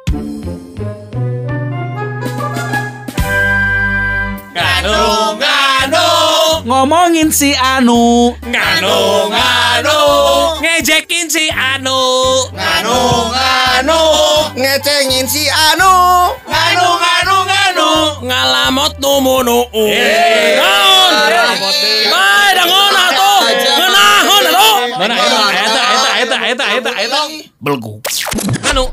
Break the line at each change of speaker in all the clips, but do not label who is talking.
Ngomongin si Anu,
Nganu
ngejekin si Anu,
ngecengin si Anu,
ngalamot numunu.
naon, bae dangon atuh, ngeunahon atuh, mana eta belgu, nganu,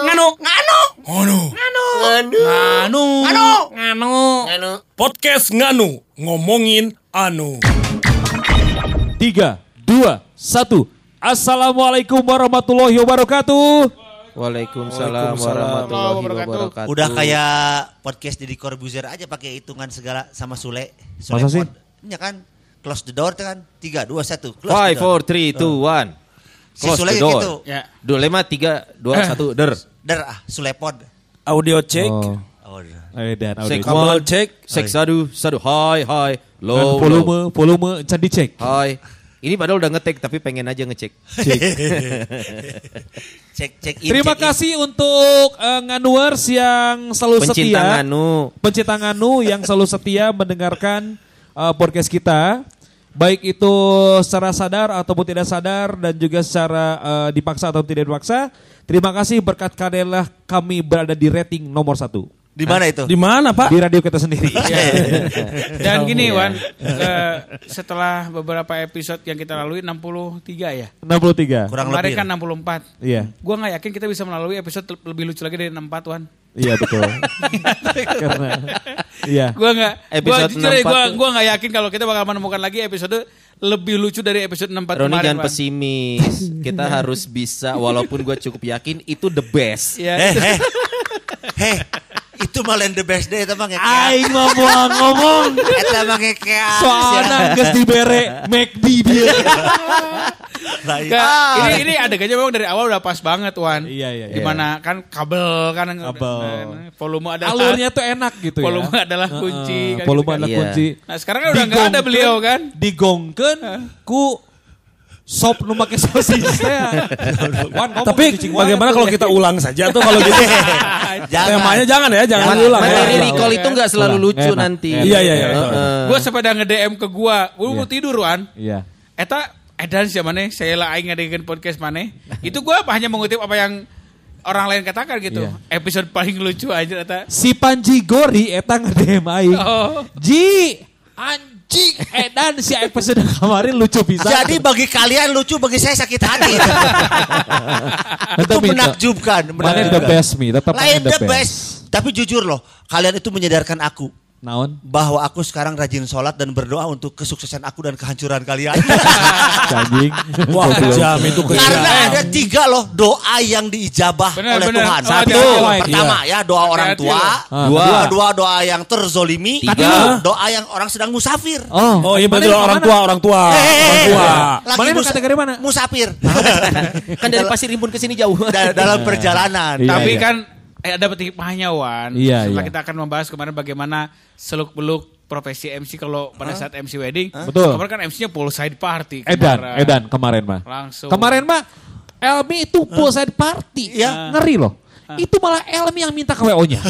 Podcast Nganu ngomongin anu.
3, 2, 1. Assalamualaikum warahmatullahi wabarakatuh.
Waalaikumsalam warahmatullahi wabarakatuh.
Udah kayak podcast Deddy Corbuzier aja pakai hitungan segala sama Sule.
Masa sih?
Ya kan? Close the door kan? 3, 2, 1.
5, 4, 3, 2, 1.
Si Sule gitu.
Ya.
3, 2, 1, der.
Sulepod.
Audio check.
Dan
Cek
audio.
one, cek sadu, hai, low,
Volume can dicek.
hai. Ini padahal udah ngetek tapi pengen aja ngecek.
Cek in.
Terima kasih untuk Nganuers yang selalu setia. Pencinta Nganu yang selalu setia mendengarkan podcast kita. Baik itu secara sadar ataupun tidak sadar dan juga secara dipaksa atau tidak dipaksa. Terima kasih berkat kalianlah kami berada di rating nomor 1.
Di mana itu?
Di mana, Pak?
Di radio kita sendiri.
Dan gini Wan, setelah beberapa episode yang kita lalui 63 ya.
63.
Kurang
Kemarin
lebih.
kan 64.
Iya.
Gua nggak yakin kita bisa melalui episode lebih lucu lagi dari 64 Wan.
Iya betul. Karena iya.
Gua nggak.
Episode
Jujur ya,
64
gua nggak yakin kalau kita bakal menemukan lagi episode lebih lucu dari episode 64
Roni
kemarin.
jangan
Wan.
pesimis. Kita harus bisa walaupun gue cukup yakin itu the best.
Ya.
Heh. Itu malah the best day eta mah ngeke.
Aing ngomong.
Eta mah ngeke.
Soalnya geus dibere McD dia.
Ini adegannya memang dari awal udah pas banget Wan.
Iya.
Gimana kan kabel kan volume adalah
Alurnya tuh enak gitu ya.
volume adalah kunci kan
Volume
gitu kan.
adalah
Iya.
kunci.
Nah sekarang kan udah nggak ada beliau kan.
Digongkeun ku sop nu make sosis teh.
Tapi bagaimana kalau kita ulang saja tuh kalau gitu? Temanya jangan ulang.
Materi
ya.
recall itu nggak selalu
Ulang.
lucu
Enak.
nanti.
Iya.
Gue sepeda nge-DM ke gua mau tidur Wan.
Iya.
Eta edan siapa nih? Saya lah aing ngadekeun podcast mana? Itu gua hanya mengutip apa yang orang lain katakan gitu.
Iya.
Episode paling lucu aja eta.
Si Panji Gori eta nge-DM aing.
Oh.
Ji, anjing edan si episode kemarin lucu bisa.
Jadi bagi kalian lucu, bagi saya sakit hati. Itu menakjubkan.
Mana the best me, tetap
Lain
the
the best. Tapi jujur loh, kalian itu menyadarkan aku
Naon?
bahwa aku sekarang rajin sholat dan berdoa untuk kesuksesan aku dan kehancuran kalian.
Anjing.
Wah, kejam itu kejam.
Karena ada 3 loh doa yang diijabah
Benar,
oleh
benar.
Tuhan.
Oh,
Satu,
hati-hati.
pertama ya doa orang
Hati-hati
tua.
loh.
Dua, doa yang terzolimi.
3,
doa yang orang sedang musafir.
Oh,
Oh iya betul orang tua.
Lagi
Mana lu kategori mana?
musafir.
kan dari Pasir Rimbun ke sini jauh.
Dalam perjalanan.
Iya,
Tapi
iya.
kan ada hikmahnya Wan.
Iya,
Setelah
iya.
kita akan membahas kemarin bagaimana seluk-beluk profesi MC kalau pada saat MC wedding.
Betul.
Kemarin kan MC-nya poolside party.
Edan kemarin mah.
Langsung.
Kemarin mah Elmi itu poolside party.
Iya.
Ngeri loh. Itu malah Elmi yang minta ke WO-nya.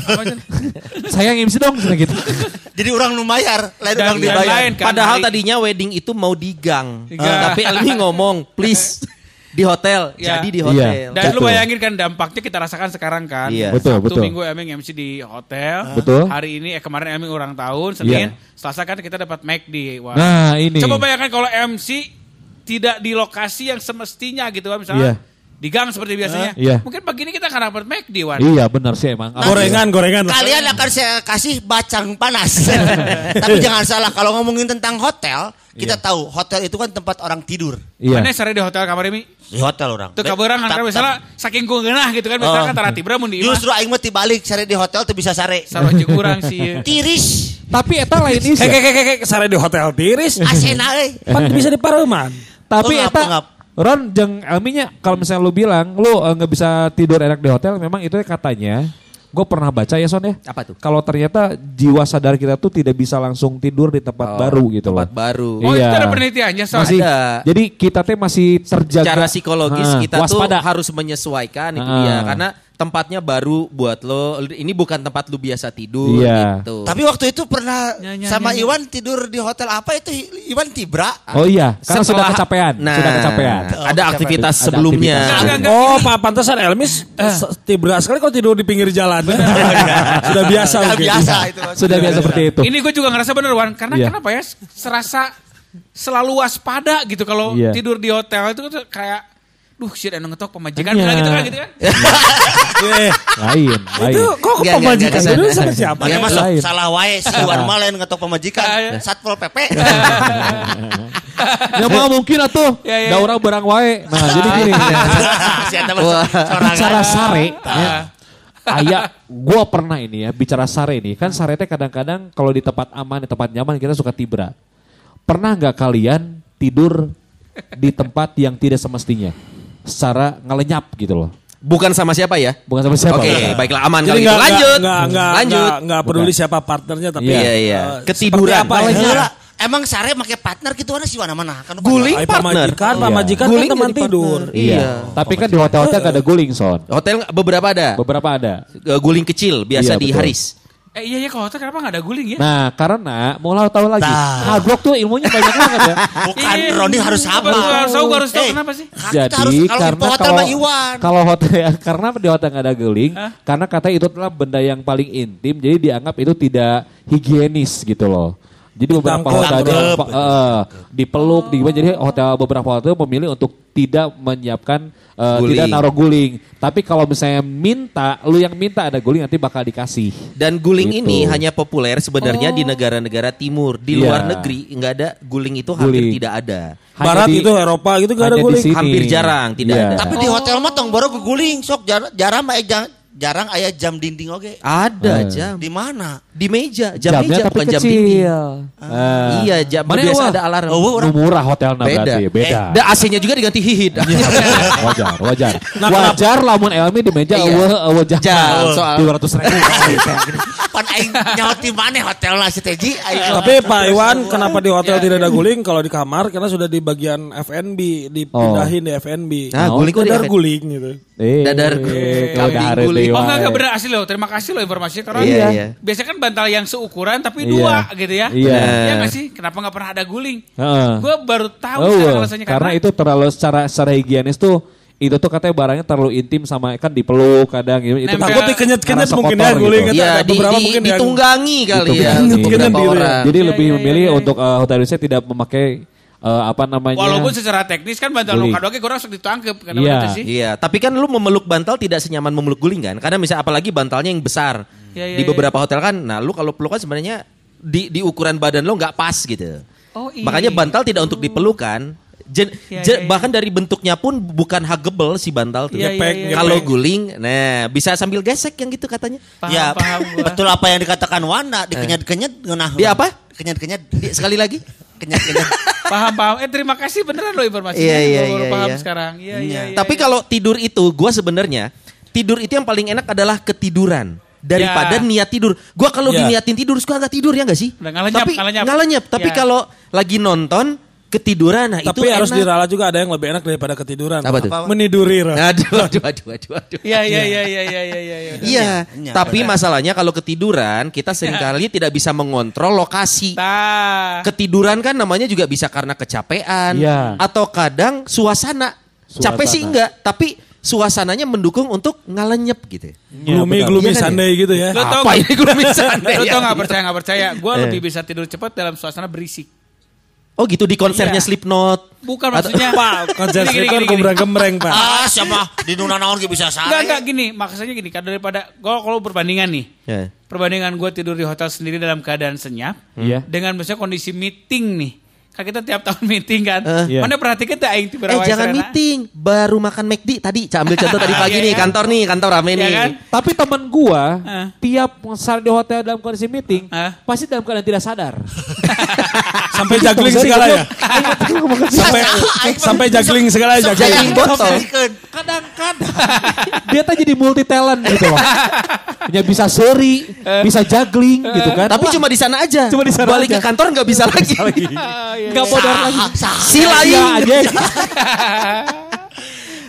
Saya yang MC dong gitu.
Jadi orang lumayar, lain
Dan
orang
yang
dibayar.
lain kan,
Padahal
hari-
tadinya wedding itu mau di gang.
Gang.
Tapi Elmi ngomong, please di hotel.
Ya.
Jadi di hotel.
Dan lu
Betul.
bayangin kan dampaknya kita rasakan sekarang kan.
Iya.
Betul,
Sabtu
betul.
Minggu Eming MC di hotel.
Betul.
Hari ini kemarin Eming ulang tahun. Senin,
Iya.
Selasa kan kita dapat McD. Wah.
Nah ini.
Coba bayangkan kalau MC tidak di lokasi yang semestinya gitu kan. Misalnya
Iya.
di gang seperti biasanya.
Iya.
Mungkin pagi ini kita akan dapat McD Wan.
Iya benar sih emang.
Gorengan.
Kalian akan saya kasih bacang panas. Tapi jangan salah, kalau ngomongin tentang hotel, kita tahu hotel itu kan tempat orang tidur.
Iya.
Mana sare di hotel kamar ini?
Di hotel orang.
Tuh kabarang kan misalnya saking geunah gitu kan. Misalnya kan tara tibra mun di imah.
Justru aing mah tibalik sare di hotel teu bisa sare.
Saroji kurang sih.
Tiris.
Tapi eta lain isi.
Kayak sare di hotel tiris.
Asena euy.
Pan bisa di Pareuman.
Tapi
Pengap,
eta
pengap.
Ron jeung Elminya kalau misalnya lu bilang lu nggak bisa tidur enak di hotel, memang itu katanya. Gue pernah baca ya Son ya.
Apa tuh?
Kalau ternyata jiwa sadar kita tuh tidak bisa langsung tidur di tempat baru gitu loh.
Tempat baru.
Oh itu
Iya.
ada penelitiannya Son.
Masih,
Ada.
jadi kita teh masih terjaga.
Secara psikologis kita
waspada.
tuh harus menyesuaikan itu
Ah.
dia. Karena tempatnya baru buat lo. Ini bukan tempat lu biasa tidur gitu.
Tapi waktu itu pernah sama Iwan tidur di hotel apa itu Iwan Tibra.
Oh iya, karena sudah kecapean. Sudah kecapean.
Ada aktivitas sebelumnya.
Oh, Pak pantesan Elmis Tibra sekali kalau tidur di pinggir jalan. Sudah biasa.
Sudah biasa seperti itu.
Ini gue juga ngerasa bener Wan, karena kenapa ya? Serasa selalu waspada gitu kalau tidur di hotel itu kayak shit anu ngetok pemajikan bilang gitu kan.
Lain.
Itu kok pemajikan dulu sama siapa?
Ya masuk salah wae si Iwan mah lain ngetok pemajikan. Satpol PP.
Ya mah mungkin atuh. Da urang barang wae. Nah, jadi gini. Bicara sare. Gua pernah ini ya bicara sare ini. Kan sare teh kadang-kadang kalau di tempat aman, di tempat nyaman kita suka tibra. Pernah nggak kalian tidur di tempat yang tidak semestinya? Secara ngelenyap gitu loh.
Bukan sama siapa ya?
Bukan sama siapa.
Oke, baiklah aman
jadi
kalau gitu.
Lanjut. Enggak peduli siapa partnernya tapi
ketiduran.
Emang sare make partner gitu sih mana-mana kan
guling partner.
Pamajikan kan teman tidur.
Iya. Tapi kan di hotel-hotel gak ada guling, Son.
Hotel beberapa ada. Guling kecil biasa di Haris.
Iya kalau hotel kenapa gak ada guling ya?
Nah karena mau tahu lagi. Hard rock tuh ilmunya banyak banget ya.
Bukan Roni harus sama.
Harus tahu kenapa sih?
Jadi karena kalau hotel karena di hotel gak ada guling, karena katanya itu adalah benda yang paling intim, jadi dianggap itu tidak higienis gitu loh. Jadi beberapa hotel dipeluk, jadi beberapa hotel memilih untuk tidak menyiapkan, tidak naruh guling. Tapi kalau misalnya lu yang minta ada guling nanti bakal dikasih.
Dan guling gitu. Ini hanya populer sebenarnya di negara-negara timur. Di luar negeri nggak ada guling itu hampir tidak ada.
Barat itu Eropa gitu nggak ada guling.
Hampir jarang tidak ada.
Tapi di hotel mah tong baru guling sok jarang aya jam dinding oke.
Ada jam.
Di mana?
Di meja, jam meja bukan jam dinding. Iya, jam biasa ada alarm.
Murah hotelnya berarti, beda.
Dan AC-nya juga diganti hihit.
Wajar. Wajar lamun Elmi di meja jam soal 200.000.
Pan aing nyaut di mana hotelna si Teji?
Tapi Pak Iwan kenapa di hotel tidak ada guling kalau di kamar karena sudah di bagian F&B dipindahin di F&B.
Nah, guling kok
dadar guling gitu.
Dadar guling.
Oh enggak benar asli loh. Terima kasih loh informasinya karena biasanya kan bantal yang seukuran tapi dua gitu ya. Iya nggak sih? Kenapa nggak pernah ada guling? Gue baru tahu alasannya
karena itu terlalu secara higienis tuh. Itu tuh katanya barangnya terlalu intim sama kan dipeluk kadang gitu. Itu
takut dikenyet-kenyet mungkin ya guling gitu.
Ya ditunggangi kali ya.
Jadi lebih memilih untuk hotel Indonesia tidak memakai
walaupun secara teknis kan bantal luka doang kurang sok ditangkep
sih. Iya, tapi kan lu memeluk bantal tidak senyaman memeluk guling kan? Karena misalnya apalagi bantalnya yang besar. Di beberapa hotel kan, nah lu kalau pelukan sebenarnya di ukuran badan lo nggak pas gitu. Makanya bantal tidak untuk dipelukan. Bahkan dari bentuknya pun bukan huggable si bantal tuh. Kalau guling, nah bisa sambil gesek yang gitu katanya.
Paham. Betul apa yang dikatakan Wana, dikenyet-kenyet ngeunah.
Di apa?
Kenyet-kenyet.
Sekali lagi.
Kenyet-kenyet.
Paham. Terima kasih beneran lo informasinya.
Iya.
Baru paham sekarang. Iya.
Tapi kalau tidur itu, gue sebenarnya tidur itu yang paling enak adalah ketiduran daripada niat tidur. Gue kalau diniatin tidur, suka nggak tidur ya nggak sih? Ngalenyap. Tapi kalau lagi nonton ketiduran, nah
tapi
itu
harus
enak.
diralat juga ada yang lebih enak daripada ketiduran.
Apa tuh?
Meniduri.
Aduh. Iya. Tapi masalahnya kalau ketiduran kita seringkali tidak bisa mengontrol lokasi. Ketiduran kan namanya juga bisa karena kecapean atau kadang suasana. Capek sih enggak, tapi suasananya mendukung untuk ngalenyep gitu.
Gloomy Sunday gitu ya.
Apa ini gloomy Sunday?
Lo tau gak percaya? Gue lebih bisa tidur cepat dalam suasana berisik.
Oh gitu di konsernya Slipknot.
Bukan maksudnya.
Pak, konser Slipknot gembreng-gembreng Pak.
Siapa di nuna-naon gak bisa salah.
Enggak gini, maksudnya gini. Daripada kalau perbandingan nih. Perbandingan gue tidur di hotel sendiri dalam keadaan senyap. Dengan misalnya kondisi meeting nih. Kan kita tiap tahun meeting kan. Mana perhatikan tuh aing tiba
jangan meeting, baru makan McD tadi. Ambil contoh tadi pagi nih, kantor rame nih.
Kan?
Tapi teman gua tiap di hotel dalam kondisi meeting pasti dalam keadaan tidak sadar.
Sampai juggling segala ya. Sampai juggling segala ya.
Juggling botol.
Kadang-kadang dia tuh jadi multi talent gitu loh. Dia bisa seri, bisa juggling gitu kan.
Tapi cuma di sana aja. Balik ke kantor nggak bisa lagi.
Nggak bodor lagi.
Si lain.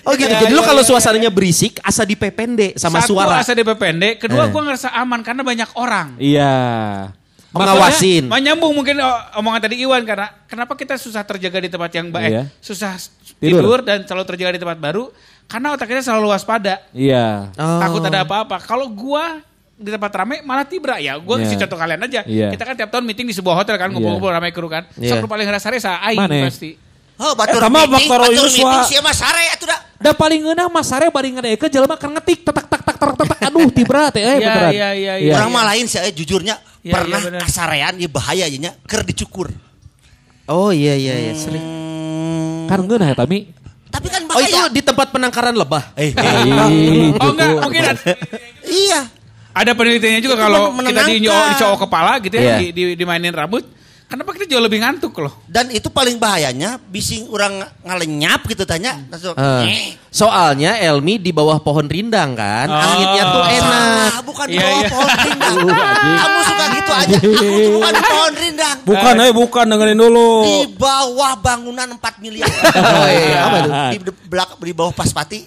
Oh gitu. Jadi lu kalau suasananya berisik, asa dipepende sama suara.
Satu asa dipepende, kedua gue ngerasa aman karena banyak orang.
Iya.
Mengawasin.
Menyambung mungkin omongan tadi Iwan karena kenapa kita susah terjaga di tempat yang baik, susah tidur dan selalu terjaga di tempat baru karena otak kita selalu waspada.
Iya.
Takut ada apa-apa. Kalau gue di tempat ramai malah tibra ya. Gue kasih contoh kalian aja. Kita kan tiap tahun meeting di sebuah hotel kan, ngumpul-ngumpul ramai kru kan. Sok paling ngerasa aing pasti.
Oh, batur meeting siapa Mas Sare atuh da.
Da paling ngeunah Mas Sare bari ngadekeun jelema kan ngetik tak aduh tibra teh beneran.
Iya. Urang mah lain sih jujurnya pernah kasarean ieu bahaya nya keur dicukur.
Oh iya sering.
Kan ngeunah eta Mi.
Tapi kan bahaya.
Oh itu di tempat penangkaran lebah.
Oh enggak, mungkin
iya.
Ada penelitiannya juga kalau kita dicowok kepala gitu ya, dimainin rambut, kenapa kita jauh lebih ngantuk loh.
Dan itu paling bahayanya, bising orang ngalenyap gitu tanya.
Soalnya Elmi di bawah pohon rindang kan, anginnya tuh enak.
Bukan di bawah pohon rindang. Kamu suka gitu aja, aku tuh bukan di pohon rindang.
Bukan, dengerin dulu.
Di bawah bangunan 4 miliar.
Oh iya, apa tuh?
Di bawah Paspati.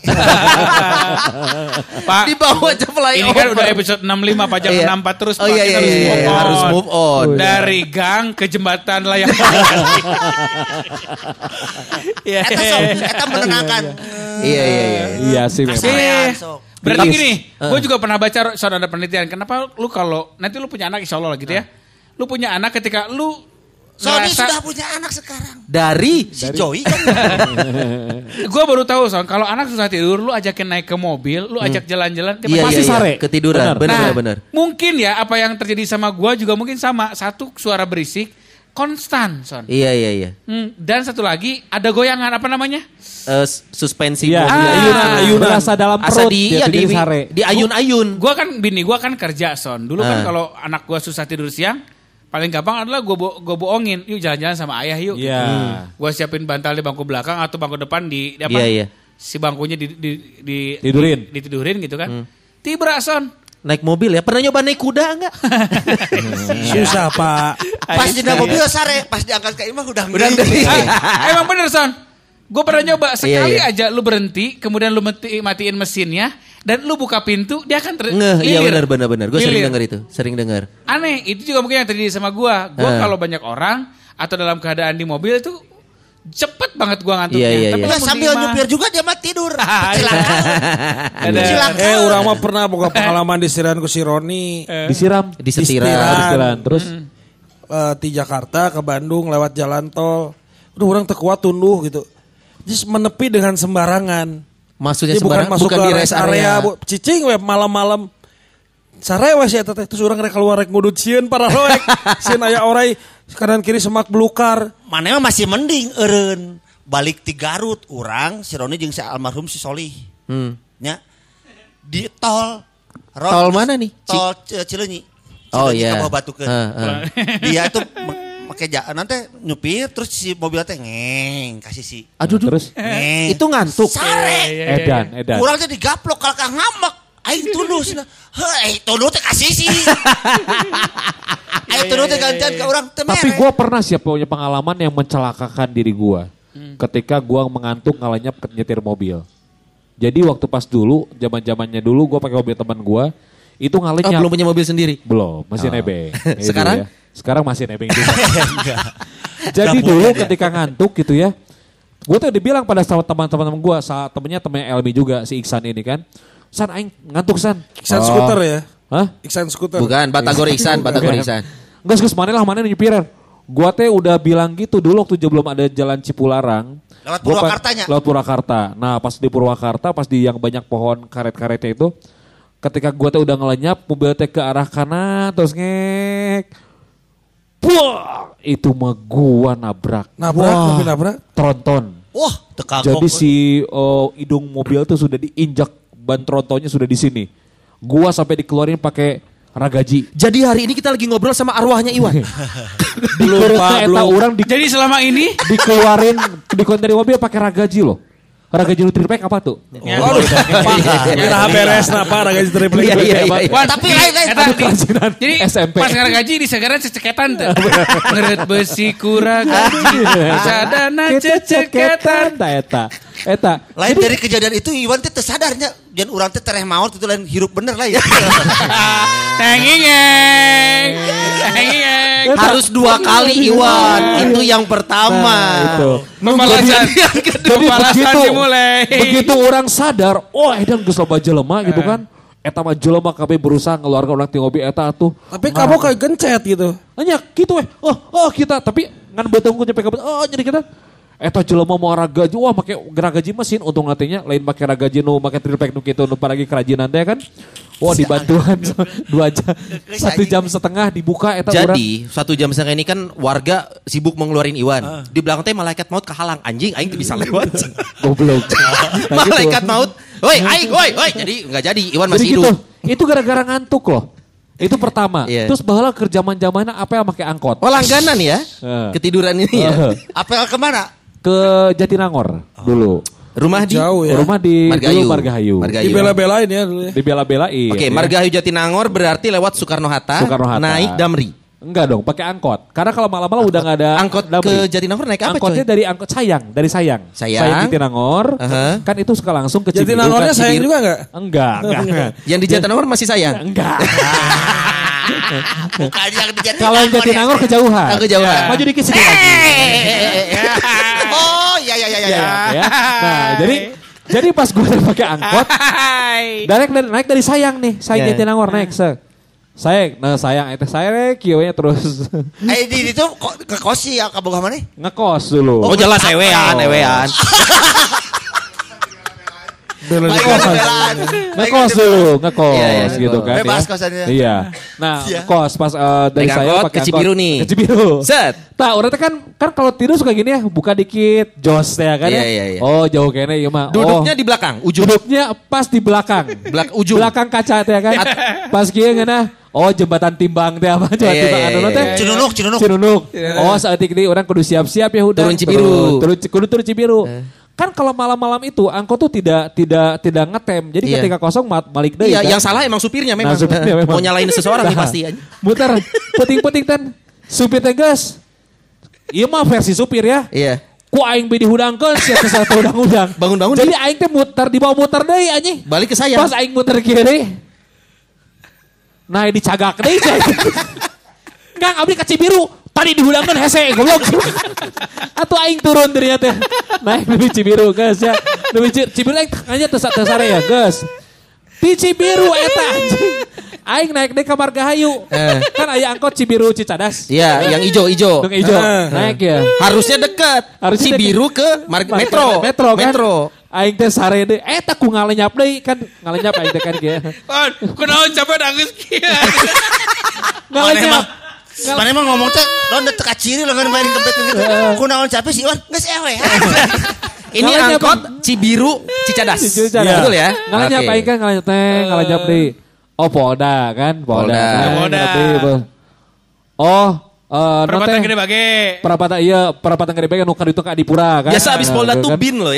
Pak,
di bawah aja flyover.
Ini kan udah episode 65, Pak jangan 64 terus Pak.
Kita harus move on.
Dari gang ke jembatan layang.
Eta menenangkan.
Iya sih memang.
Berarti gini, gue juga pernah baca soal ada penelitian. Kenapa lu kalau nanti lu punya anak insya Allah lah gitu ya. Lu punya anak ketika lu
Sony sudah punya anak sekarang.
Dari
si Joey kan.
Gue baru tahu Son, kalau anak susah tidur, lu ajakin naik ke mobil, lu ajak jalan-jalan,
pasti sare ketiduran. Benar.
Mungkin ya apa yang terjadi sama gue juga mungkin sama. Satu suara berisik konstan Son.
Iya.
Dan satu lagi ada goyangan apa namanya?
Suspensi
ayunan. Berasa dalam perut.
Di ayun-ayun.
Gue kan kerja Son. Dulu kan kalau anak gue susah tidur siang, paling gampang adalah gue bohongin, yuk jalan-jalan sama ayah yuk. Gue siapin bantal di bangku belakang atau bangku depan di apa? Si bangkunya ditidurin gitu kan. Tibra Son.
Naik mobil ya? Pernah nyoba naik kuda enggak?
Susah Pak.
Pas di mobil Sare, pas diangkat ke imah udah
emang bener Son. Gue pernah nyoba sekali aja lu berhenti, kemudian lu matiin mesinnya. Dan lu buka pintu, dia akan
iya benar. Gue sering dengar.
Aneh, itu juga mungkin yang terjadi sama gue. Gue kalau banyak orang atau dalam keadaan di mobil itu cepet banget gue ngantuknya.
Tapi sambil nyupir juga dia mah tidur. Kecelakaan.
Orang mah pernah buka pengalaman disirain ku si Roni.
Disiram. Terus
di Jakarta ke Bandung lewat jalan tol. Udah orang terkuat tunduh gitu. Just menepi dengan sembarangan.
Maksudnya sembarangan bukan di rest area.
Cicing we malam-malam. Sare we si eta teh terus urang rek keluar rek ngudut sieun para loek. Sieun aya orai kanan kiri semak belukar.
Maneh mah masih mending eureun. Balik ti Garut urang si Roni jeung si almarhum si Solih. Nya. Di tol.
Tol mana nih?
Tol Cileunyi.
Oh iya.
Ka Batukeun. Dia tuh pakai nanti nyupir terus si mobil teh ngeng kasih si.
Aduh terus. Itu ngantuk.
Sare.
Edan.
Kurang teh digaplok kalkah ngamek. Aing tunduh cenah. Heuh, tunduh teh kasih si. Aing tunduh teh gantian ke urang teh mere.
Tapi gue pernah punya pengalaman yang mencelakakan diri gue. Ketika gue mengantuk ngalenyap nyetir mobil. Jadi waktu pas dulu, zaman-zamannya dulu gue pakai mobil teman gue, itu ngalenyap.
Belum punya mobil sendiri?
Belum, masih nebeng.
Sekarang?
Sekarang masih nebeng juga. Jadi dulu ketika ngantuk gitu ya, gue tuh dibilang pada teman-teman gue, temennya Elmi juga, si Iksan ini kan. San, aing ngantuk San.
Iksan skuter ya?
Hah?
Iksan skuter.
Bukan, Batagor Iksan.
Enggak, mana nyepiran. Gue teh udah bilang gitu dulu waktu belum ada jalan Cipularang.
Lewat Purwakartanya?
Lewat Purwakarta. Nah pas di Purwakarta, pas di yang banyak pohon karet-karetnya itu, ketika gue teh udah ngelenyap, mobil teh ke arah kanan, terus ngek. Wah, itu mah gua nabrak.
Nabrak?
Tronton.
Wah, tekagok.
Jadi si hidung mobil tuh sudah diinjak, ban trontonnya sudah di sini. Gua sampai dikeluarin pakai ragaji.
Jadi hari ini kita lagi ngobrol sama arwahnya Iwan.
Belum.
Jadi selama ini
dikeluarin dari mobil pakai ragaji loh. Ragaji triplek apa tuh?
Kita beres apa ragaji triplek.
Tapi lain.
Jadi SMP. Pas ragaji di segaran ceceketan tuh. Ngeret besi ku ragaji. Sadana ceceketan.
Eta.
Lain dari kejadian itu Iwan teh tersadarnya dan urang teh tereh maot itu lain hirup bener lah ya.
Tenging.
Harus 2 kali Iwan. Itu yang pertama.
Itu.
Pembalasan yang kedua. Pembalasan dimulai.
Begitu orang sadar, edan geus loba jelema gitu kan. Eta mah jelema kabeh berusaha ngeluarkan orang ti ngobi eta tuh.
Tapi kamu kayak gencet gitu.
Hanya gitu kita tapi ngan beuteung ku nyampe ka jadi kita eta jelema mau ragaji make geragaji mesin untung nantinya lain make ragaji nu make trilpack nu kitu nu paragi kerajinan teh kan. Dibantuan 2 jam 1 jam setengah dibuka eta urang.
Jadi 1 jam setengah ini kan warga sibuk mengeluarin Iwan. Di belakang teh malaikat maut kehalang anjing aing teu bisa lewat.
Goblok.
Malaikat maut, "Woi, aing, woi." Jadi enggak jadi Iwan masih hidup.
Itu gara-gara ngantuk loh. Itu pertama. Terus baheula keur zaman-zamanna apa yang make angkot.
Langganan ya. Ketiduran ini ya.
Apel kemana?
Ke Jatinangor dulu.
Rumah di
jauh ya.
Rumah di Margahayu.
Dibela-belain ya dulu ya.
Dibela-belain.
Oke, Margahayu Jatinangor berarti lewat Soekarno-Hatta. Naik Damri.
Enggak dong, pakai angkot. Karena kalau malam-malam udah nggak ada
angkot Damri. Ke Jatinangor naik apa?
Angkotnya dari angkot dari Sayang. Sayang Jatinangor. Kan itu suka langsung ke Cibiru.
Jatinangornya Sayang juga enggak?
Enggak.
Yang di Jatinangor masih Sayang?
Enggak.
Bukan yang di Jatinangor.
Kalau Jatinangor kejauhan.
Kejauhan.
Maju dikit sedikit lagi.
Oh, ya.
Nah, jadi pas gue pakai angkot, naik dari Sayang nih, Sayang Jatinangor naik Sayang itu saya kieu terus.
Di itu ke kos sih ya ka boga mana?
Ngekos dulu. Oh jelas ewean.
Ngekos gitu kan.
Bebas kosannya.
Iya. Nah, kos pas dari saya pakai
ke Cibiru nih.
Ke Cibiru.
Set.
Orang kan kalau tidur suka gini ya, buka dikit jos ya kan ya.
Iya.
Oh, jauh kayaknya ieu mah.
Duduknya di belakang, ujung.
Duduknya pas di belakang.
Ujung.
Belakang kaca teh kan. Pas kieu ngeunah. Jembatan timbang teh apa? Jembatan timbang anu teh. Cinunuk. Saeutik deui urang kudu siap-siap ya udah.
Turun Cibiru.
Turun Cibiru. Kan kalau malam-malam itu angkot tuh tidak ngetem. Jadi ketika kosong balik deui.
Iya, yang salah emang supirnya memang. Mau nyalain seseorang nih pasti aja.
Muter puting-puting kan. Supir teh geus. Ieu mah versi supir ya.
Iya.
Ku aing be dihudangkeun sia satu udang-udang.
Bangun-bangun.
Jadi aing teh dibawa muter deui anjing.
Balik ke saya.
Pas aing muter kiri. Nah dicagak deh. Enggak abdi ka Cibiru. Tadi dihudangkeun hese goblok. Atuh aing turun dari teh. Naik di Cibiru geus ya. Di Cibiru aing hanya teu sare ya geus. Di Cibiru eta anjing. Aing naik deh ke Margahayu. Kan aya angkot Cibiru Cicadas.
Iya, yang ijo.
Yang ijo. Naik ya.
Harusnya dekat. Cibiru ke Metro.
Metro. Aing teh sare deui eta ku ngalenyap deui kan ngalenyap aing teh kan kieu.
Kunaon capek nangis kieu.
Ngalenyap.
Mana emang ngomong teh don teu kaciri lo main kempet gitu. Kunaon capek sih Iwan geus ewe.
Ini angkot Cibiru Cicadas. Betul ya?
Ngalenyap aing kan ngalenyap deui. Polda kan, Polda.
Perapatan Gede Bage.
Perapatan Gede Bage nu kaditu ka Adipura kan.
Biasa abis Polda tuh bin lo ya.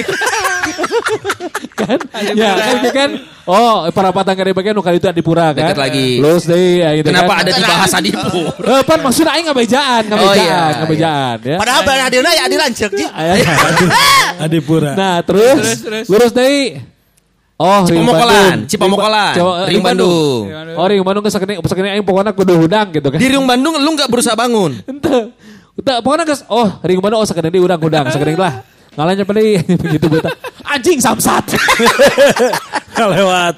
Kan? Ya kan. Perapatan Gede Bage nu kaditu Adipura kan.
Dekat lagi.
Lulus deui gitu kan.
Kenapa ada dibahas Adipura?
Pan maksudnya aing ngabejaan ya.
Padahal bae hadirna ya Adi lanceuk ji.
Adipura.
Nah, terus lurus deui.
Cipamokolan. Ring Bandung.
Ring Bandung kesakene aing pokona kudu hudang gitu kan.
Di Ring Bandung lu enggak berusaha bangun.
Henteu. Pokona geus Ring Bandung sakene deui urang hudang sakene lah. Ngalanya deui begitu beuta. Anjing samsat.
Lewat.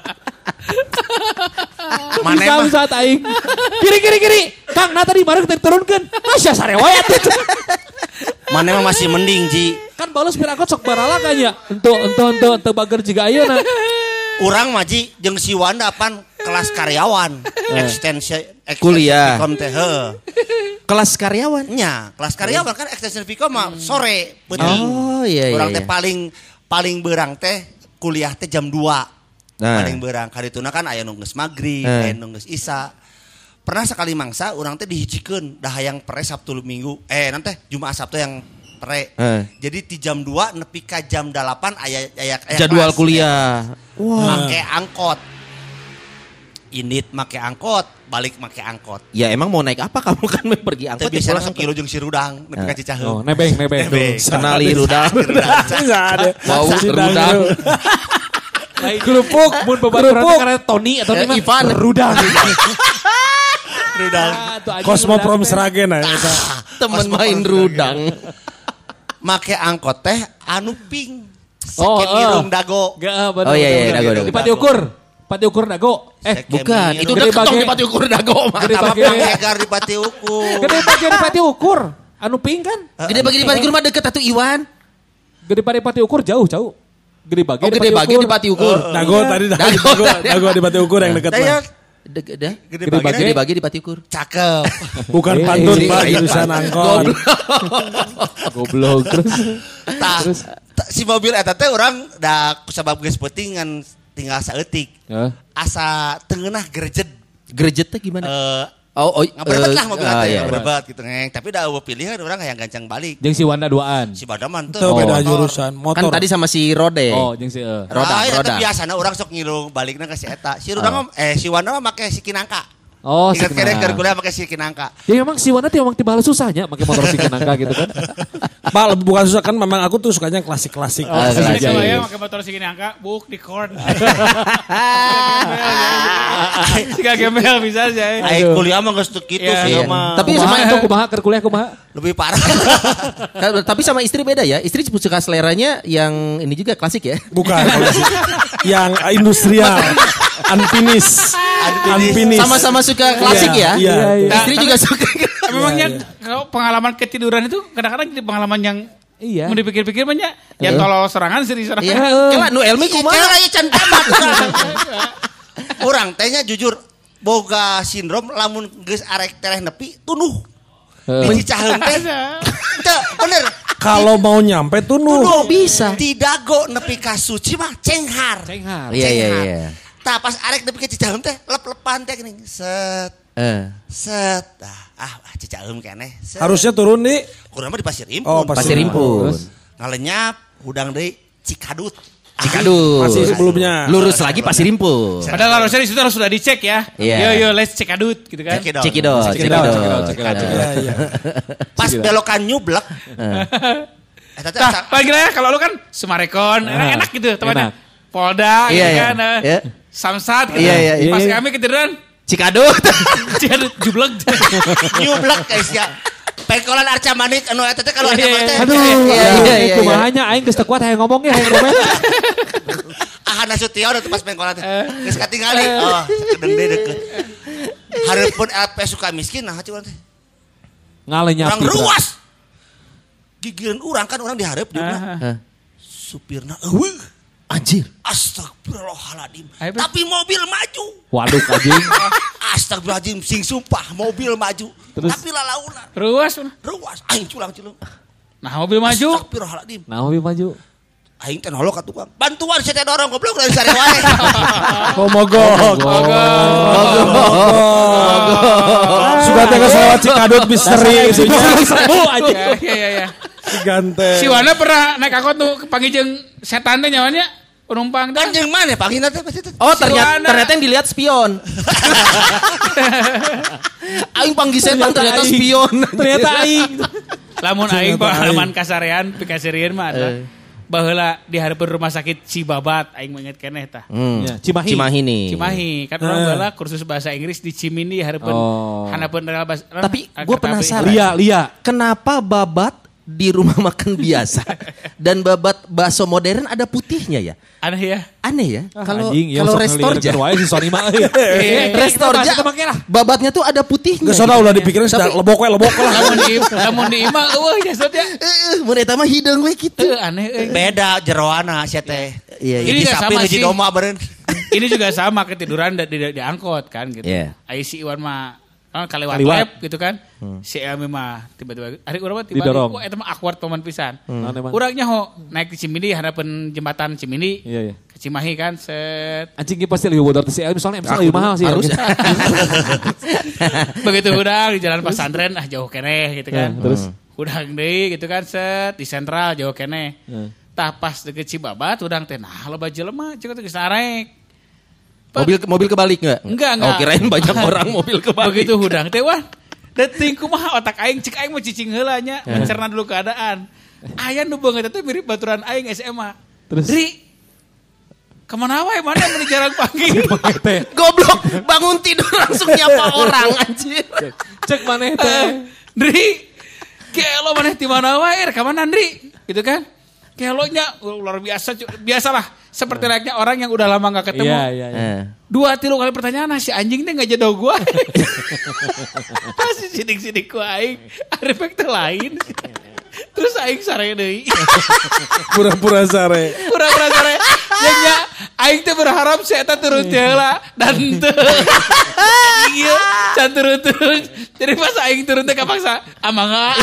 Mana samsat aing. Kiri. Kang, tadi bareng turunkeun. Sia sarewayat.
Mana emang masih mending Ji.
Kan balas pirakot sok barala kan ya. Ento bager jiga ayeuna.
Urang mah Ji jeung si Wanda pan kelas karyawan. Ekstensi
kuliah.
Vkom teh
Kelas karyawan?
Nya, kelas karyawan kan ekstensi Vkom mah sore peuting.
Iya.
Urang teh paling beurang teh kuliah teh jam 2. Paling beurang kadituna kan aya nu geus magrib, aya nu geus isya. Pernah sekali mangsa urang teh dihijikeun dah hayang pere Sabtu Minggu. Nanti Jumat Sabtu yang pere. Jadi di jam 2 nepi ka jam 8 aya
jadwal kuliah.
Make angkot. Indit make angkot, balik make angkot.
Ya emang mau naik apa kamu kan pergi angkot.
Tapi biasanya sok kilo jeung si Rudang, nepi ka Cicaheum.
Nebeng.
Kenali Rudang.
Enggak ada.
Bau Rudang.
Kerupuk, mun babaturan karena Tony atau
Ivan
Rudang.
Rudang.
Cosmoprom Sragen
Temen main Rudang.
Make angkot teh anu pink. Sekirung dago.
Oh iya dago.
Di Pati Ukur dago.
Bukan, itu udah ketong di Pati Ukur dago.
Gede bagi Egar di Pati Ukur.
Gede bagi di Pati Ukur. Anu pink kan?
Gede bagi di Pati Ukur mah deket atuh Iwan.
Gede bagi di Pati Ukur jauh. Gede bagi
di Pati Ukur.
Dago tadi dago di Pati Ukur yang dekat mah.
Gede bagi di Pati Ukur.
Cakep.
Bukan pantun Pak, jurusan angkot.
Goblok terus.
Si mobil eta teh urang da kusabab geus peuting ngan tinggal saeutik. Asa teungeunah grejet.
Grejet teh gimana?
Ngaberebet lah mobil teh, ngaberebet gitu ngeng. Tapi da eueuh pilihan urang hayang gancang balik.
Jeung si Wanda duaan.
Si Wanda mah teu
beda jurusan motor.
Kan tadi sama si Rode.
Jeung si
roda. Biasana urang sok ngilu balikna ka si eta. Si Rudang si Wanda mah make si Kinangka.
Oh,
ingat keren kuliah pakai si Kinangka.
Ya memang si Wana tuh emang tiba susahnya pakai motor si Kinangka gitu kan.
Pak, bukan susah kan, memang aku tuh sukanya klasik-klasik.
Sama ya pakai motor si Kinangka, buk di corn. Jika gembel bisa aja.
Ayo kuliah mah geus kitu sih mah.
Tapi sama itu kumaha keur kuliah kumaha?
Lebih parah.
Tapi sama istri beda ya. Istri suka seleranya yang ini juga klasik ya.
Bukan. Yang industrial. Unfinished.
Sama-sama suka klasik ya. Istri juga suka.
Memangnya kalau pengalaman ketiduran itu kadang-kadang jadi pengalaman yang mau dipikir-pikir banyak. Ya tolol serangan sih serangan.
Kela nu Elmi kumaha?
Kela aya can tamat. Urang tehnya jujur boga sindrom lamun geus arek tereh nepi tunuh. Cicaheum teh. Teu bener.
Kalau mau nyampe tunuh
bisa.
Tidak go nepi ka suci mah cenghar.
Iya.
Tah pas arek nepi ka Cicaheum teh lep-lepan teh geuning. Set. Set. Cicaheum keneh.
Harusnya turun di
kurang mah di Pasir Impun.
Oh,
Pasir Impun.
Ngalenyap udang deui Cikadut.
Masih sebelumnya.
Lurus lagi Pasir Impun.
Padahal harusnya di situ harus sudah dicek ya. Yo let's Cikadut gitu kan.
Cekidot.
Pas belokan nyublek.
Paling ya kalau lu kan Sumarekon, enak gitu tempatnya. Polda gitu kan. Samsat gitu. Pas kami ketiduran
Cikadut.
Jublek.
Nyublek guys ya. Pengkolan Arca Manik anu eta teh kalau ada teh.
Aduh. Kumahanya aing geus teu kuat hayang ngomong ge hayang ngomong.
Ahana Sution atuh pas pengkolan teh. Geus katingali. Oh, kedeng deui deukeut. Hareupeun LP suka miskin nah cuman teh.
Ngalenyap.
Urang ruas. Gigireun urang kan urang dihareup juga. Supirna eueuh.
Anjir.
Astagfirullahaladzim. Tapi mobil maju.
Waduh anjing.
Astagfirullahaladzim. Sing sumpah mobil maju.
Terus?
Tapi lalauna.
Ruas.
Aing culang-culung.
Nah mobil maju.
Astagfirullahaladzim.
Nah mobil maju.
Aing teh nolok ka tukang. Bantuan saya teh dorong goblok dari sare wae.
Mogok. Sudah teh geus lewat Cikadut misteri
Sembuh aja. Iya.
Ganteng.
Si Wana pernah naik angkot tuh panggil setan teh nyawanya penumpang teh.
Anjing mana panggilna teh pasti.
Oh ternyata yang dilihat spion. Aing panggil setan ternyata spion.
Ternyata aing.
Lamun aing pengalaman kasarean pikasirieun mah adalah baheula di hareupeun rumah sakit Cibabat aing mengingat keneh tah.
Cimahi
kan orang baheula kursus bahasa Inggris di Cimindi hareupeun hanapeun bahasa.
Tapi gue penasaran.
Lia.
Kenapa babat di rumah makan biasa dan babat bakso modern ada putihnya ya? Aneh ya. Kalau Restorja Restorja babatnya tuh ada putihnya.
Geus udah dipikirin sudah lebok lah.
Lamun di imah eueuh jasodnya.
Mun eta mah hideung we kitu.
Aneh.
Beda jeroana sia teh.
Ini juga sama sih.
Doma beureun.
Ini juga sama ketiduran di angkot kan gitu. Ai si Iwan mah kalewat web gitu kan. Si Emi mah tiba-tiba hari urang mah tiba-tiba kok eta mah awkward paman pisan. Urangnya naik di Cimindi harapan jembatan Cimindi. Ke Cimahi kan set.
Anjing ge pasti lebih bodoh si Emi soalnya lebih mahal sih harus.
Begitu urang di jalan pesantren jauh keneh gitu kan. Terus urang deui gitu kan set di sentral jauh keneh. Tah pas deket Cibabat urang teh nah loba jelema ceuk geus arek.
Mobil kebalik enggak?
Enggak.
Oh, kirain banyak orang mobil kebalik.
Begitu hudang teh wah. Deting kumaha otak aing cik aing mau cicing heula nya, mencerna dulu keadaan. Aya nu beungeut teh mirip baturan aing SMA.
Terus
Ri, kemana wae mana meni jarang panggil.
Goblok, bangun tidur langsung nyapa orang anjir.
Cek maneh teh.
Dri, kelo maneh ti mana wae, ka mana Dri? Gitu kan? Kelonya luar biasa, biasalah seperti layaknya orang yang udah lama gak ketemu.
Iya.
2-3 kali pertanyaan si anjing teh gak jodoh gua. Pasti sidik-sidik ku aing, efek teh lain. Terus aing sare deui.
Pura-pura sare.
Pura-pura sare. Nya aing teh berharap si eta turun heula dan teu. Iya, can turun. Jadi pas aing turun teh kapaksa amangga.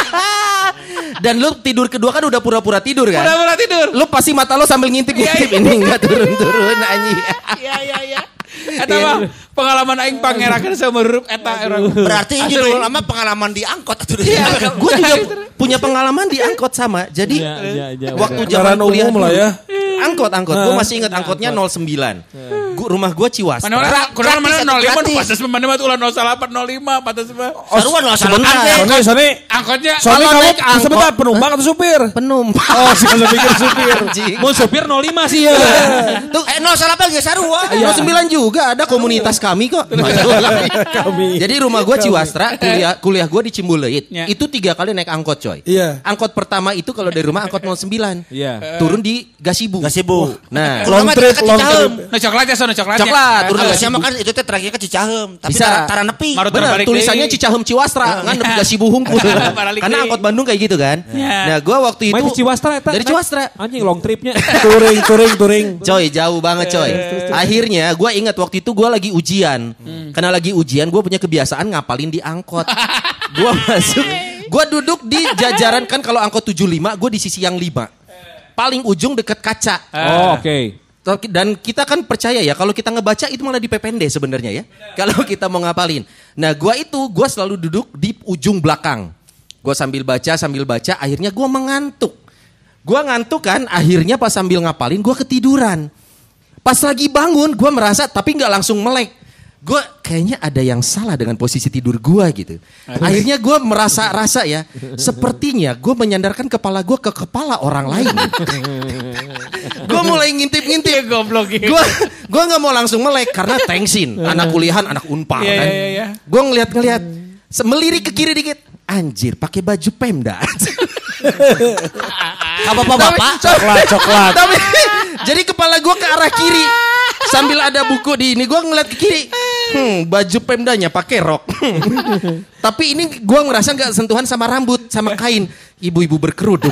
Dan lu tidur kedua kan udah pura-pura tidur kan?
Pura-pura tidur.
Lu pasti mata lu sambil ngintip-ngintip ini enggak turun-turun anjing.
Iya. Eta mah pengalaman aing pangerakeun seumur eta orang.
Berarti ini dulu lama pengalaman di angkot atuh.
Iya, gue juga punya pengalaman di angkot sama. Jadi waktu zaman kuliah
umum lah ya.
Angkot. Gue masih ingat angkotnya 09. Rumah gue Ciwastra.
Mana 05 patas mana mah ulah 08 05 patas mah.
Sarua 08.
Sony.
Angkotnya
Sony kamu sebentar penumpang atau supir?
Penumpang.
Oh, saya pikir supir.
Mau supir 05 sih ya.
Tuh 08 ge sarua.
09 juga ada komunitas kami kok. Jadi rumah gue Ciwastra, kuliah gue di Cimbuleuit. Itu 3 kali naik angkot coy.
Iya.
Angkot pertama itu kalau dari rumah angkot 09.
Iya.
Turun di Gasibu. Nah,
long trip.
No coklatnya sono coklatnya.
Coklat.
Turun Gasibu kan itu teh terakhir ke Cicaheum, tapi
Bisa.
tara nepi.
Benar, tulisannya Cicaheum Ciwastra, kan nepi Gasibu hungkul. Karena angkot Bandung kayak gitu kan. Nah, gue waktu itu
Main di Ciwastra eta.
dari Ciwastra.
Anjing long tripnya.
Touring.
Coy, jauh banget coy. Akhirnya gue ingat waktu itu gue lagi ujian. Karena lagi ujian gue punya kebiasaan ngapalin di angkot. Gue masuk, gue duduk di jajaran kan kalau angkot 75 gue di sisi yang 5. Paling ujung deket kaca.
Oh, oke.
Dan kita kan percaya ya kalau kita ngebaca itu malah dipepende sebenarnya ya. Kalau kita mau ngapalin. Nah gue selalu duduk di ujung belakang. Gue sambil baca, akhirnya gue mengantuk. Gue ngantuk kan, akhirnya pas sambil ngapalin gue ketiduran. Pas lagi bangun gue merasa tapi gak langsung melek. Gue kayaknya ada yang salah dengan posisi tidur gue gitu. Akhirnya gue merasa ya, sepertinya gue menyandarkan kepala gue ke kepala orang lain. Gue mulai ngintip-ngintip. Gue nggak mau langsung melek karena tengsin, anak kuliahan, anak Unpar kan. Gue ngeliat, melirik ke kiri dikit. Anjir, pakai baju Pemda. Bapak-bapak.
Coklat.
Tapi jadi kepala gue ke arah kiri. Sambil ada buku di ini gue ngeliat ke kiri. Baju Pemdanya pakai rok. Tapi ini gue ngerasa nggak sentuhan sama rambut, sama kain. Ibu-ibu berkerudung.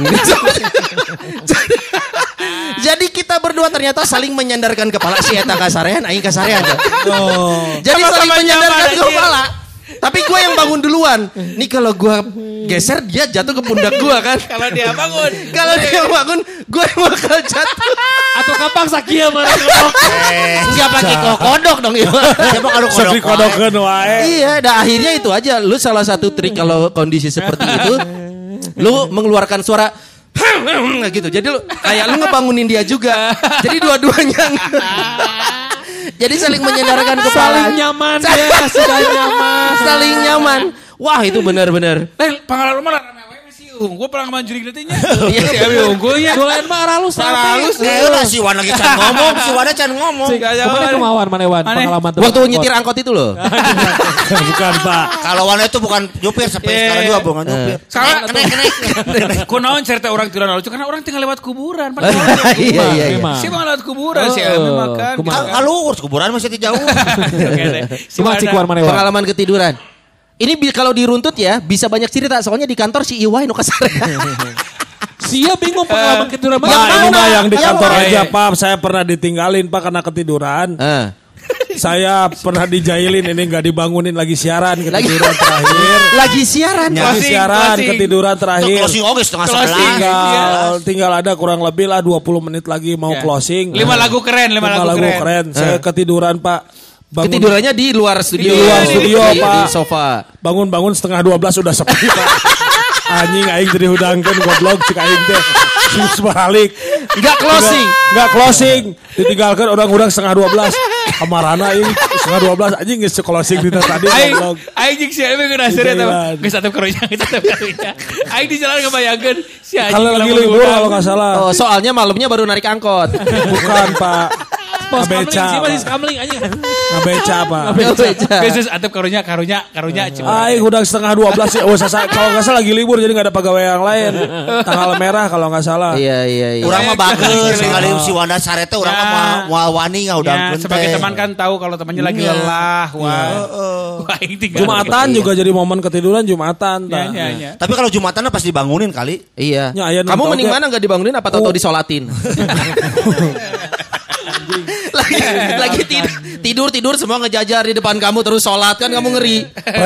Jadi kita berdua ternyata saling menyandarkan kepala si eta kasarean, aing kasarean. Jadi saling menyandarkan kepala. Tapi gue yang bangun duluan. Nih kalau gue geser dia jatuh ke pundak gue kan.
Kalau dia bangun,
gue yang bakal jatuh.
Atau kapan sakia mana?
Siapa pakai kodok dong ya. Siapa
kodok wae.
Iya, dah akhirnya itu aja. Lu salah satu trik kalau kondisi seperti itu, lu mengeluarkan suara gitu. Jadi lu kayak lu ngebangunin dia juga. Jadi dua-duanya. Jadi saling menyandarkan kepala.
Saling nyaman ya,
saling nyaman. Wah, itu benar-benar.
Pengalaman rame masih gue pengalaman juri nantinya.
Iya,
si Abi unggulnya.
Dolen mah aralus.
Si Wan lagi can ngomong.
Kemana kemauan Manewan pengalaman tuh.
Waktu nyetir angkot itu loh.
Bukan, Pak.
Kalau Wan itu bukan nyupir sampai sekarang juga bukan nyupir.
Kena kunaon cerita orang tiduran lucu karena orang tinggal lewat kuburan.
Iya.
Si mah lewat kuburan si Abi makan.
Kalau urus kuburan masih jauh.
Cuma Cikuan Manewan.
Pengalaman ketiduran. Ini kalau diruntut ya bisa banyak cerita soalnya di kantor si Iwai nu kasarean.
Sia bingung pengalaman ketiduran.
Ini mah yang di kantor aja Pak. Saya pernah ditinggalin Pak karena ketiduran. Saya pernah dijailin ini nggak dibangunin lagi siaran ketiduran terakhir.
Lagi siaran.
Ketiduran terakhir.
Closing oke setengah 11.
Tinggal ada kurang lebih lah 20 menit lagi mau closing.
5 lagu keren.
Saya ketiduran Pak.
Ketidurannya di luar studio.
Pak.
Di sofa.
Bangun 11:30 udah sepi Pak. Anjing aing jadi hudangkeun goblok cik aing teh. Sus balik.
Enggak closing.
Enggak closing. Ditinggalkan orang-orang 11:30. Kamarana ini 11:30 anjing geus closing di tadi.
Aing si Aing geus nasir eta. Geus atup karunya. Aing di jalan kebayangkeun si anjing.
Kalau lagi libur kalau enggak salah.
Oh, soalnya malamnya baru narik angkot.
Bukan, Pak. Ngabeca.
Masih skamling anjing.
Ngabeca, Pak.
Geus atup karunya
Aing udah 11:30 sih. Oh, kalau enggak salah lagi libur jadi enggak ada pegawai yang lain. Tanggal merah kalau enggak salah.
Iya.
Urang mah bageus ningali si Wanda Sarete urang mah moal wani ngaudangkeun.
Sebagai teman kan tahu kalau temannya lagi lelah. Wah.
Jumatan juga jadi momen ketiduran Jumatan.
Tapi kalau Jumatan pas dibangunin kali.
Iya. Kamu mending mana enggak dibangunin apa tahu disolatin? lagi tidur semua ngejajar di depan kamu terus sholat kan kamu ngeri.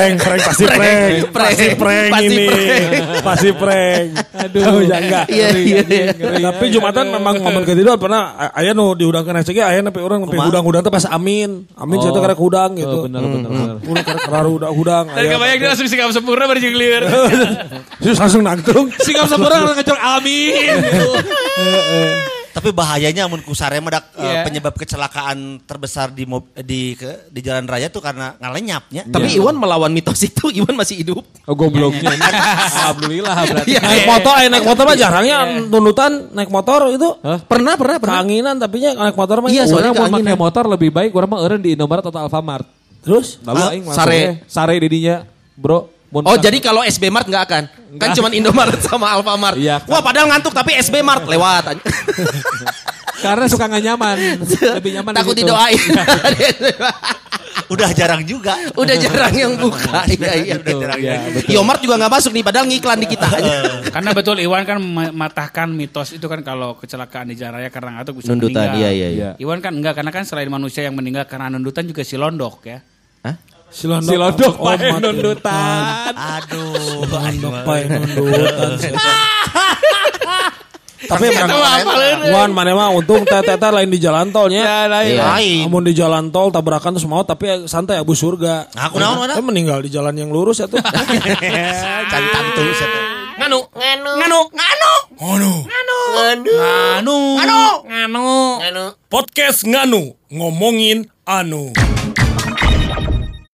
Pasti prank. Aduh, enggak.
Iya.
Tapi Jumatan memang momen ketiduran pernah aya nu diudangkeun SCG aya nepi urang nepi hudang-hudang teh pas amin saya teh karek hudang gitu.
Benar.
Urang karek hudang.
Dan kebayang dia langsung sikap sempurna bari jeung lieur.
Terus langsung nangtung.
Sikap sempurna langsung ngecok amin.
Tapi bahayanya amun kusare mah penyebab kecelakaan terbesar di jalan raya tuh karena ngalenyapnya.
Tapi Iwan melawan mitos itu, Iwan masih hidup.
Oh gobloknya. Alhamdulillah berarti.
Naik motor mah jarangnya tuntutan naik motor itu.
Pernah.
Keanginan tapi nya naik motor mah.
Iya, soalnya mau pakai motor lebih baik urang mah eureun di Indomaret atau Alfamart.
Terus
lalu aing sare didinya, Bro.
Jadi kalau SB Mart nggak akan? Kan cuma Indomaret sama Alfamart.
Iya,
Wah padahal ngantuk tapi SB Mart lewat.
Karena suka nggak nyaman. Lebih nyaman
takut
gitu.
Didoain.
Udah jarang juga.
Udah jarang yang buka. Iya. Yomart juga nggak masuk nih padahal ngiklan di kita.
Karena betul Iwan kan mematahkan mitos itu kan kalau kecelakaan di jalan raya karena ngantuk bisa
nundutan,
meninggal.
Iya.
Iwan kan enggak karena kan selain manusia yang meninggal karena nundutan juga si londok ya.
Hah?
Silondok pae nundutan.
Aduh,
pae nundutan. Tapi Wan mana mah untung tete lain di jalan tolnya.
Lain.
Amun di jalan tol tabrakan terus mau tapi santai abu surga.
Aku naon mana?
Meninggal di jalan yang lurus atuh.
Cantang tuh satu.
Nganu.
Podcast Nganu ngomongin anu.